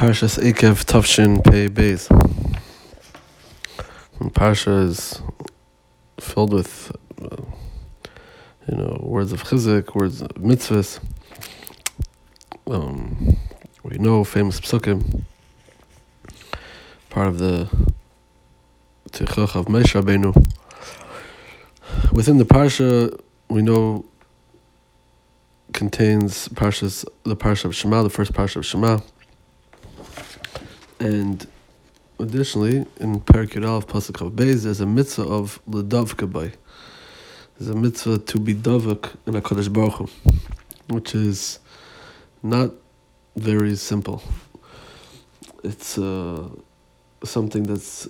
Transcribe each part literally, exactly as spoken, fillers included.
Parshas Ekev Tavshin Pei Beis. Parsha is filled with, uh, you know, words of chizuk, words of mitzvahs. Um, we know famous psukim. Part of the Tichuch of Moshe Rabbeinu. Within the parsha, we know contains parshas the parsha of Shema, the first parsha of Shema. And additionally, in Perek Yud Aleph Pasuk of Beis, there's a mitzvah of l'davka bay. There's a mitzvah to be davak in HaKadosh Baruch Hu, which is not very simple. It's uh, something that's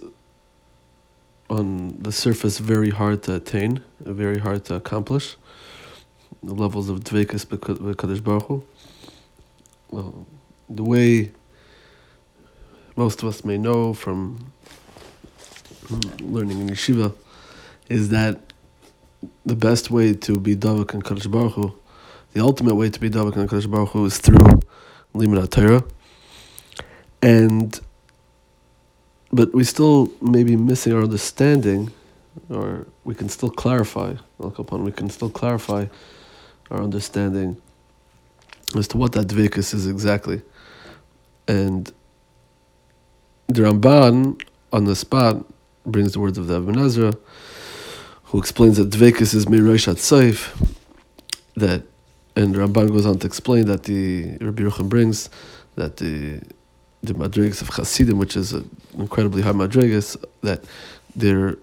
on the surface very hard to attain, very hard to accomplish. The levels of dveikus with HaKadosh Baruch Hu. Well, the way most of us may know from learning in yeshiva is that the best way to be davak in Kadosh Baruch Hu, the ultimate way to be davak in Kadosh Baruch Hu, is through limud HaTorah. And but we still may be missing our understanding, or we can still clarify. We can still clarify our understanding as to what that dveikus is exactly. And the Ramban, on the spot, brings the words of the Ibn Ezra, who explains that dveikus is mirosh hatzaif, that, and the Ramban goes on to explain that the Rabbi Yerucham brings that the the madrigas of Chasidim, which is an incredibly high madrigas, that their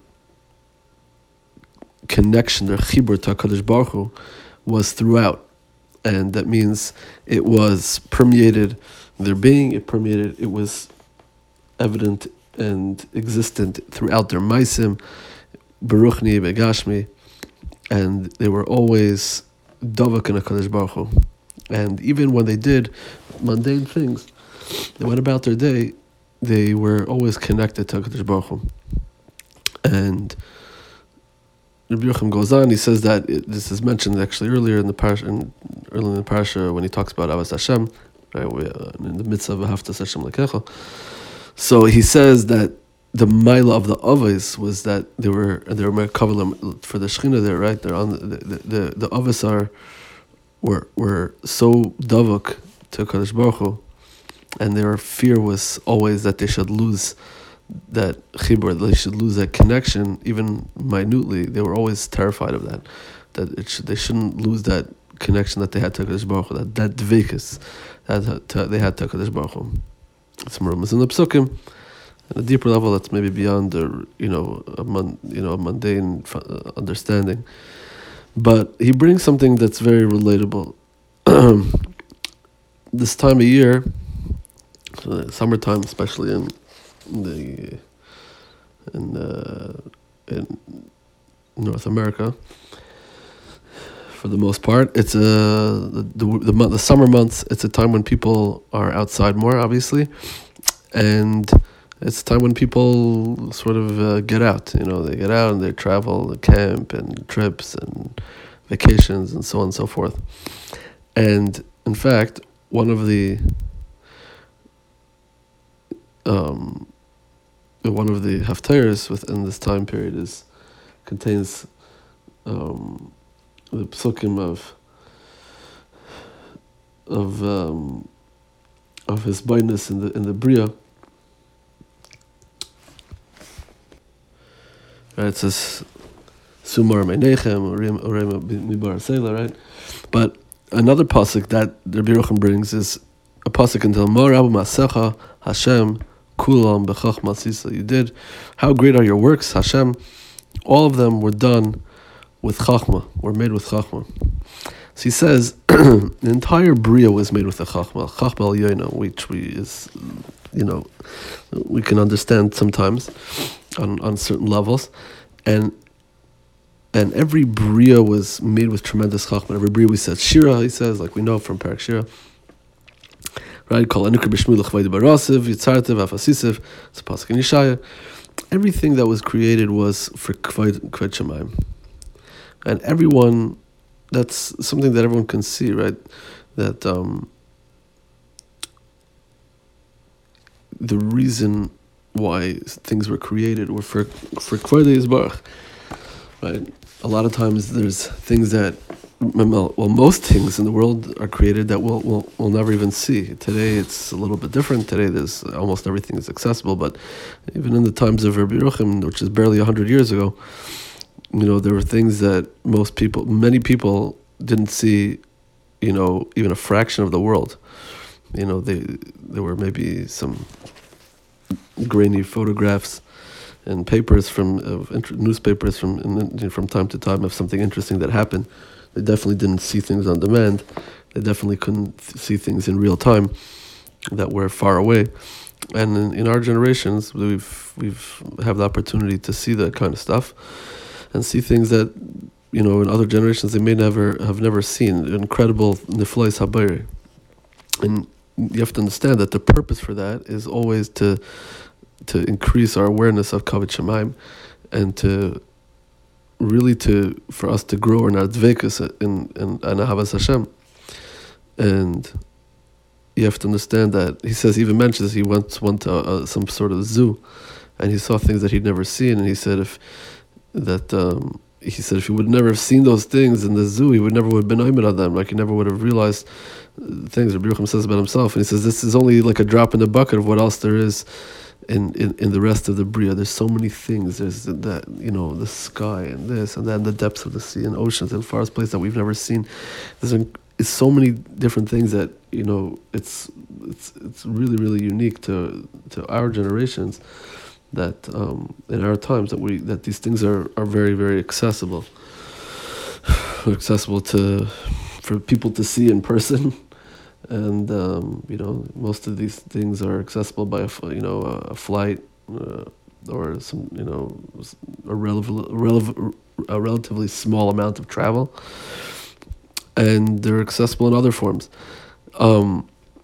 connection, their chibur to HaKadosh Baruch Hu, was throughout, and that means it was permeated their being. It permeated. It was evident and existent throughout their maisim, beruchni begashmi, and they were always davak in HaKadosh Baruch Hu. And even when they did mundane things, they went about their day, they were always connected to HaKadosh Baruch Hu. And Rabbi Yochanan goes on, he says that it, this is mentioned actually earlier in the parsha, in, earlier in the parsha when he talks about Avas Hashem, right, we, uh, in the midst of Ahavtas Hashem Lekecha. So he says that the maila of the avos was that they were they were merkavalim for the Shechina there, right? They're on the the the, the avos are were were so davuk to Kadosh Baruch Hu, and their fear was always that they should lose that chibur, they should lose that connection, even minutely. They were always terrified of that, that it should, they shouldn't lose that connection that they had to Kadosh Baruch Hu, that that dveikus that they had to Kadosh Baruch Hu. Some rumors in the psukim, at a deeper level that's maybe beyond the you know a mon, you know a mundane understanding, but he brings something that's very relatable. This time of year, uh, summertime, especially in, in the in uh, in North America, for the most part, it's a the, the the month, the summer months. It's a time when people are outside more, obviously, and it's a time when people sort of uh, get out. You know, they get out and they travel, they camp and trips and vacations and so on and so forth. And in fact, one of the um, one of the haftarahs within this time period is contains. Um, the psukim of of um, of his brightness in the in the bria. Right, it says Sumar Meinechem Urem Urem Mibar Seila, right? But another pasuk that Rabbi Yerucham brings is a pasuk in Talmud Rabbi Masecha Hashem Kulam Bechachma Sisa. You did. How great are your works, Hashem? All of them were done with chachma, were made with chachma. So he says the entire bria was made with a chachma, chachma al yoina, which we is, you know, we can understand sometimes on, on certain levels, and and every bria was made with tremendous chachma. Every bria we said shira, he says, like we know from Perek Shira, right? Kol anukar b'shmu l'chvaydi barasiv yitzartev afasisev. It's a pasuk in Yeshaya. Everything that was created was for kvayd kvayd shemayim. And everyone, that's something that everyone can see, right? That um, the reason why things were created were for for Kvodei Yisbarach, right? A lot of times there's things that, well, most things in the world are created that we'll, we'll, we'll never even see. Today it's a little bit different. Today there's almost everything is accessible, but even in the times of Rabbi Yerucham, which is barely one hundred years ago, you know, there were things that most people, many people didn't see, you know, even a fraction of the world. You know, they there were maybe some grainy photographs and papers from uh, newspapers from in, from time to time of something interesting that happened. They definitely didn't see things on demand. They definitely couldn't th- see things in real time that were far away. And in, in our generations, we've we've have the opportunity to see that kind of stuff and see things that, you know, in other generations they may never have never seen. Incredible niflais habayri. And you have to understand that the purpose for that is always to to increase our awareness of Kavod Shamayim, and to really to for us to grow in our dvekus in in Ahavas Hashem. And you have to understand that he says, he even mentions he once went to uh, some sort of zoo, and he saw things that he'd never seen, and he said if that um, he said if he would never have seen those things in the zoo, he would never would have been aimed on them. Like he never would have realized things. Rabbi Yerucham says about himself, and he says this is only like a drop in the bucket of what else there is in, in, in the rest of the Bria. There's so many things. There's that, you know, the sky and this and then the depths of the sea and oceans and farthest place that we've never seen. There's it's so many different things that, you know, it's it's it's really really unique to to our generations. That um, in our times that we that these things are, are very very accessible, accessible to for people to see in person, and um, you know, most of these things are accessible by a you know a flight uh, or some you know a relatively relev- a relatively small amount of travel, and they're accessible in other forms, um,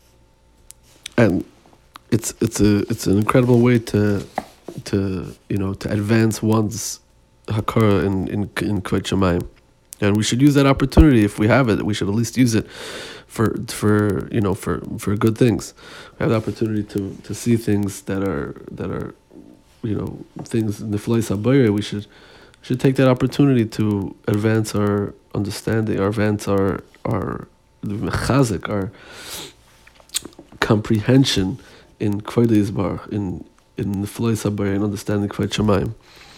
and it's it's a it's an incredible way to. to you know to advance one's hakara in in in Kvod Shamayim, and we should use that opportunity if we have it. We should at least use it for for you know for, for good things. We have the opportunity to, to see things that are that are you know things in the Niflais Habayre. We should should take that opportunity to advance our understanding, or advance our our mechazik, our comprehension in Kvodei Yisbarach, in in the Niflais Habayre, and understanding Kvod Shamayim.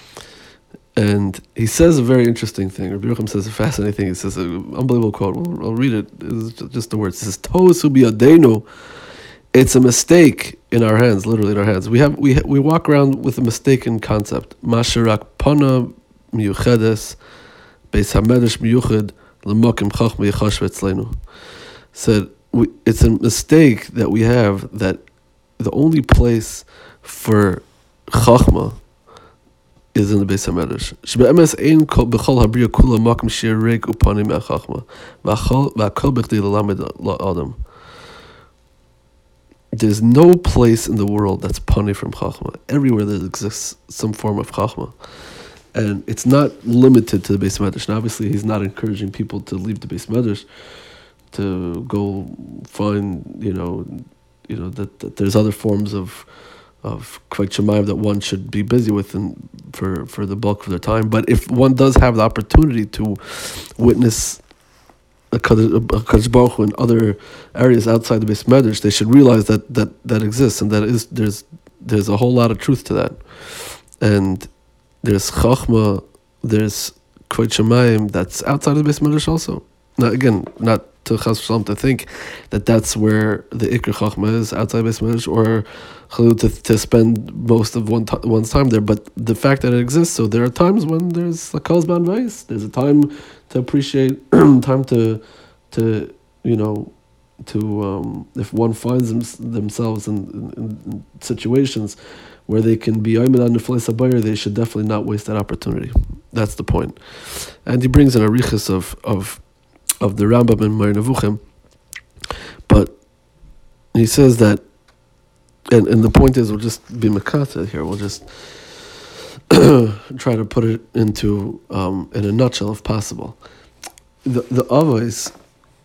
And he says a very interesting thing. Rabbi Yerucham says a fascinating thing. He says an unbelievable quote. I'll, I'll read it. It's just the words. He says, "Tosu biyadenu." It's a mistake in our hands, literally in our hands. We have we we walk around with a mistaken concept. Masharak pana miyuchedes beis hamedrash miyuched l'mokim chachma yichash v'etzleinu. Said we, it's a mistake that we have that the only place for chachma is in the Beis HaMedrash. Shebe'emes ein b'chol habriya kula makom shir rig upanim ha'chachma v'akol b'chdei l'lamed la'adam. There's no place in the world that's pani from chachma. Everywhere there exists some form of chachma, and it's not limited to the Beis HaMedrash. And obviously, he's not encouraging people to leave the Beis HaMedrash to go find, you know, you know that, that there's other forms of of Kvod Shamayim that one should be busy with and for, for the bulk of their time. But if one does have the opportunity to witness a Kadosh Baruch Hu in other areas outside the Beis Medrash, they should realize that, that that exists, and that is there's there's a whole lot of truth to that. And there's Chachma, there's Kvod Shamayim that's outside of the Beis Medrash also. Now again, not to Chas V'Shalom to think that that's where the Ikr Chachma is, outside Beis Medrash, or to to spend most of one t- one's time there. But the fact that it exists, so there are times when there's a Kol Zman Vayis. There's a time to appreciate, time to, to you know, to um, if one finds them, themselves in, in, in situations where they can be Ayman on Niflais Habayre, they should definitely not waste that opportunity. That's the point. And he brings an arichas of of of the Rambam and Moreh Nevuchim, but he says that, and, and the point is, we'll just be makata here. We'll just try to put it into um, in a nutshell, if possible. The the avos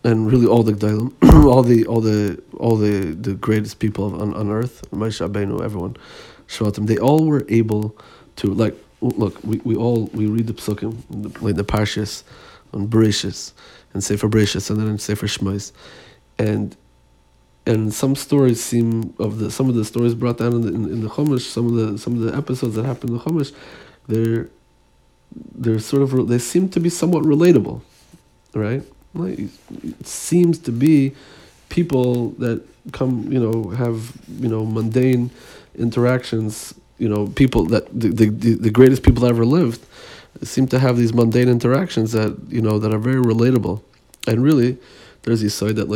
and really all the Gdalim, all the all the all the, the greatest people on, on earth, Moshe Rabbeinu, everyone, Shvatim, they all were able to, like, look, we, we all we read the Psukim, like the Parshas, on Bereshis, and Sefer Bereshis, and then in Sefer Shmos, and and some stories seem of the some of the stories brought down in the in, in the Chumash, some of the some of the episodes that happen in the Chumash, they're they're sort of they seem to be somewhat relatable, right? Like, it seems to be people that come, you know, have, you know, mundane interactions, you know, people that the the, the greatest people that ever lived seem to have these mundane interactions that, you know, that are very relatable. And really, there's this side that, like,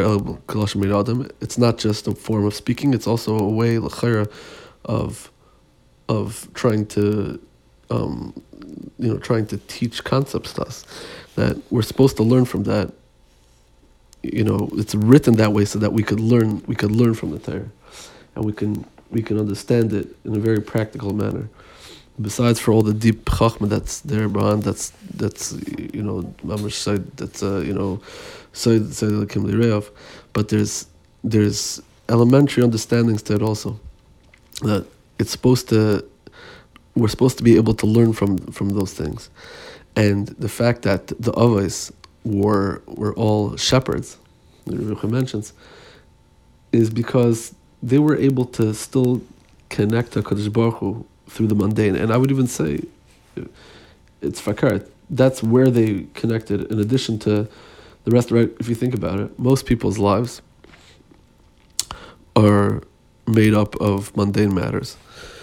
it's not just a form of speaking, it's also a way, l'chayra, of of trying to um, you know, trying to teach concepts to us, that we're supposed to learn from that. You know, it's written that way so that we could learn. We could learn from the Torah, and we can we can understand it in a very practical manner. Besides, for all the deep chachma that's there behind, that's that's you know, mamash side, that's uh, you know, side side of the Kim Lireov, but there's there's elementary understandings to it also, that it's supposed to. We're supposed to be able to learn from, from those things. And the fact that the Avos were were all shepherds, the Rebbe mentions, is because they were able to still connect to HaKadosh Baruch Hu through the mundane. And I would even say, it's fakar, that's where they connected, in addition to the rest. Right? If you think about it, most people's lives are made up of mundane matters.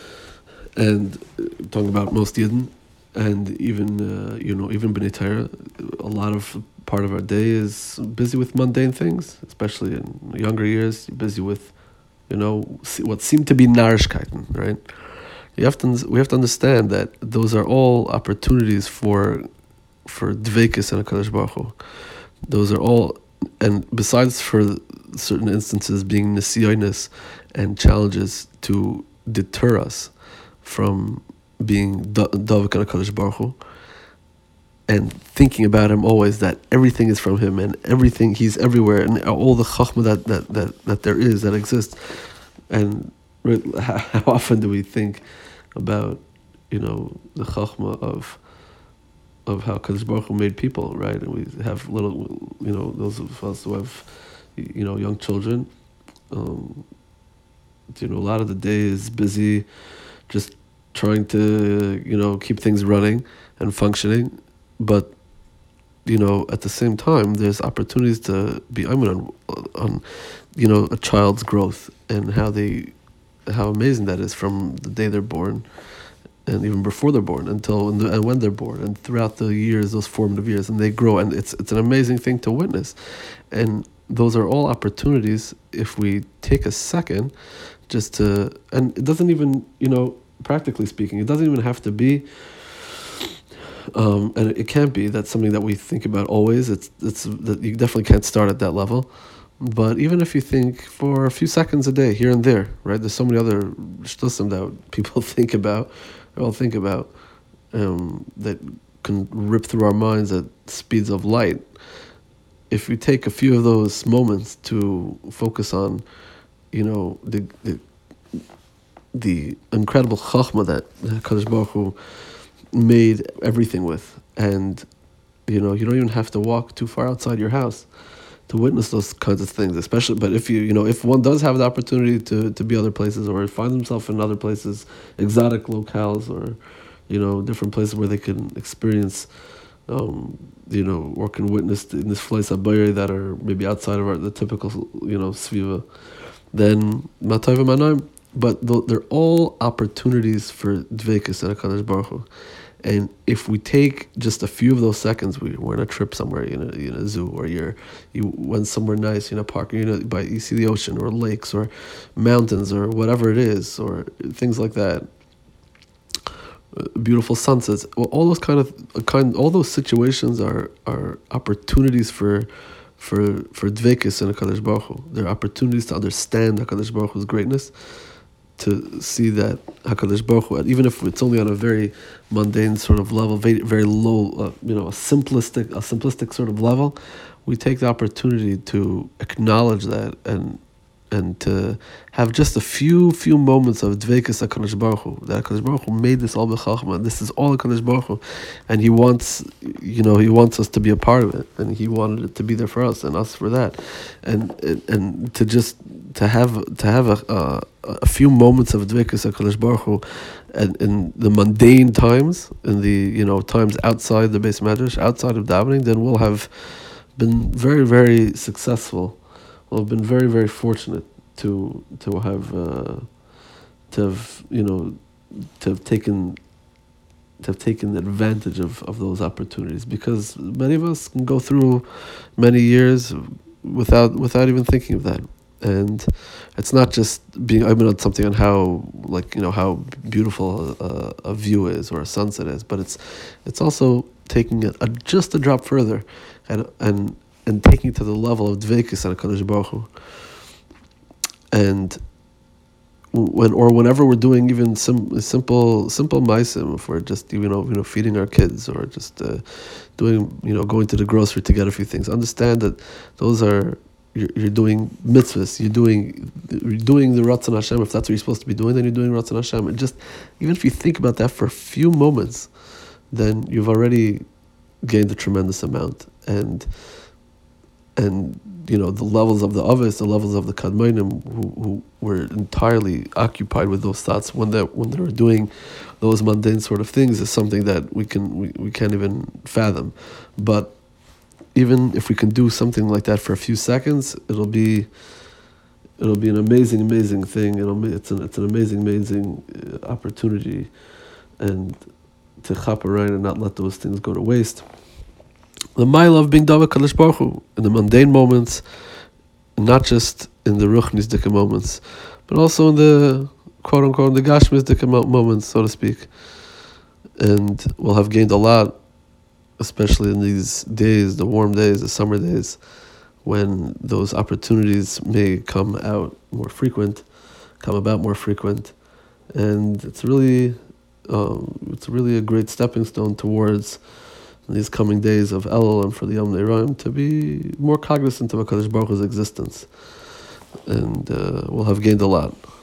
And uh, talking about most Yidden, and even uh, you know even B'nai Torah, a lot of part of our day is busy with mundane things, especially in younger years. You're busy with, you know, what seem to be narishkeiten, right? You have to we have to understand that those are all opportunities for for dveikis and HaKadosh Baruch Hu. Those are all, and besides for certain instances being nesiyonis and challenges to deter us from being Davik and HaKadosh Baruch Hu, and thinking about him always, that everything is from him, and everything, he's everywhere, and all the chachma that, that, that, that there is, that exists. And how often do we think about, you know, the chachma of of how HaKadosh Baruch Hu made people, right? And we have little, you know, those of us who have, you know, young children, um, you know, a lot of the day is busy just trying to, you know, keep things running and functioning. But, you know, at the same time, there's opportunities to be, I mean, on, on, you know, a child's growth and how they, how amazing that is from the day they're born, and even before they're born, until when and when they're born, and throughout the years, those formative years, and they grow, and it's it's an amazing thing to witness. And those are all opportunities, if we take a second just to, and it doesn't even, you know, practically speaking, it doesn't even have to be, um, and it can't be, that's something that we think about always. It's it's that you definitely can't start at that level. But even if you think for a few seconds a day, here and there, right? There's so many other shtusim that people think about, or all think about, um, that can rip through our minds at speeds of light. If we take a few of those moments to focus on, you know, the the, the incredible chachma that HaKadosh Baruch Hu made everything with, and, you know, you don't even have to walk too far outside your house to witness those kinds of things, especially, but if you, you know, if one does have the opportunity to, to be other places, or find himself in other places, exotic locales, or, you know, different places where they can experience, um, you know, or can witness in this place abayri that are maybe outside of our, the typical, you know, sviva, then matayv manaim. But they're all opportunities for dveikus and HaKadosh Baruch Hu. And if we take just a few of those seconds, we, we're on a trip somewhere, in a, in a zoo, or you're, you went somewhere nice in a park, you know, by, you see the ocean, or lakes, or mountains, or whatever it is, or things like that, uh, beautiful sunsets. Well, all those kind of, kind, all those situations are, are opportunities for, for, for dveikus and HaKadosh Baruch Hu. They're opportunities to understand HaKadosh Baruch Hu's greatness, to see that Hakadosh Baruch Hu, even if it's only on a very mundane sort of level, very, very low, uh, you know, a simplistic, a simplistic sort of level, we take the opportunity to acknowledge that and and to have just a few few moments of dveikus HaKadosh Baruch Hu, that HaKadosh Baruch Hu made this all b'chachma, this is all HaKadosh Baruch Hu, and He wants, you know, He wants us to be a part of it, and He wanted it to be there for us, and us for that, and and, and to just, to have, to have a, a, a few moments of dveikus HaKadosh Baruch Hu, and in the mundane times, in the, you know, times outside the Beis Medrash, outside of davening, then we'll have been very, very successful. Well, I've been very, very fortunate to to have uh, to have you know to have taken to have taken advantage of, of those opportunities, because many of us can go through many years without without even thinking of that. And it's not just being I mean on something on how like you know how beautiful a, a view is or a sunset is, but it's it's also taking it a, just a drop further, and and. and taking it to the level of dveikus on HaKadosh Baruch Hu. And when or whenever we're doing even sim, simple simple maisim, if we're just you know you know feeding our kids, or just uh, doing you know going to the grocery to get a few things, understand that those are you're, you're doing mitzvahs. You're doing you're doing the Ratzon Hashem. If that's what you're supposed to be doing, then you're doing Ratzon Hashem. And just even if you think about that for a few moments, then you've already gained a tremendous amount. And And you know the levels of the Avos, the levels of the Kadmonim, who, who were entirely occupied with those thoughts when they when they were doing those mundane sort of things, is something that we can we, we can't even fathom. But even if we can do something like that for a few seconds, it'll be it'll be an amazing amazing thing. It'll it's an it's an amazing amazing opportunity, and to chap around and not let those things go to waste. The mile of being Dava Kadosh Baruch Hu in the mundane moments, not just in the Ruchnis Dika moments, but also in the quote unquote the Gashmis Dika moments, so to speak. And we'll have gained a lot, especially in these days, the warm days, the summer days, when those opportunities may come out more frequent, come about more frequent, and it's really, um, it's really a great stepping stone towards these coming days of Elul and for the Yom Ne'Roim to be more cognizant of HaKadosh Baruch Hu's existence, and uh, we'll have gained a lot.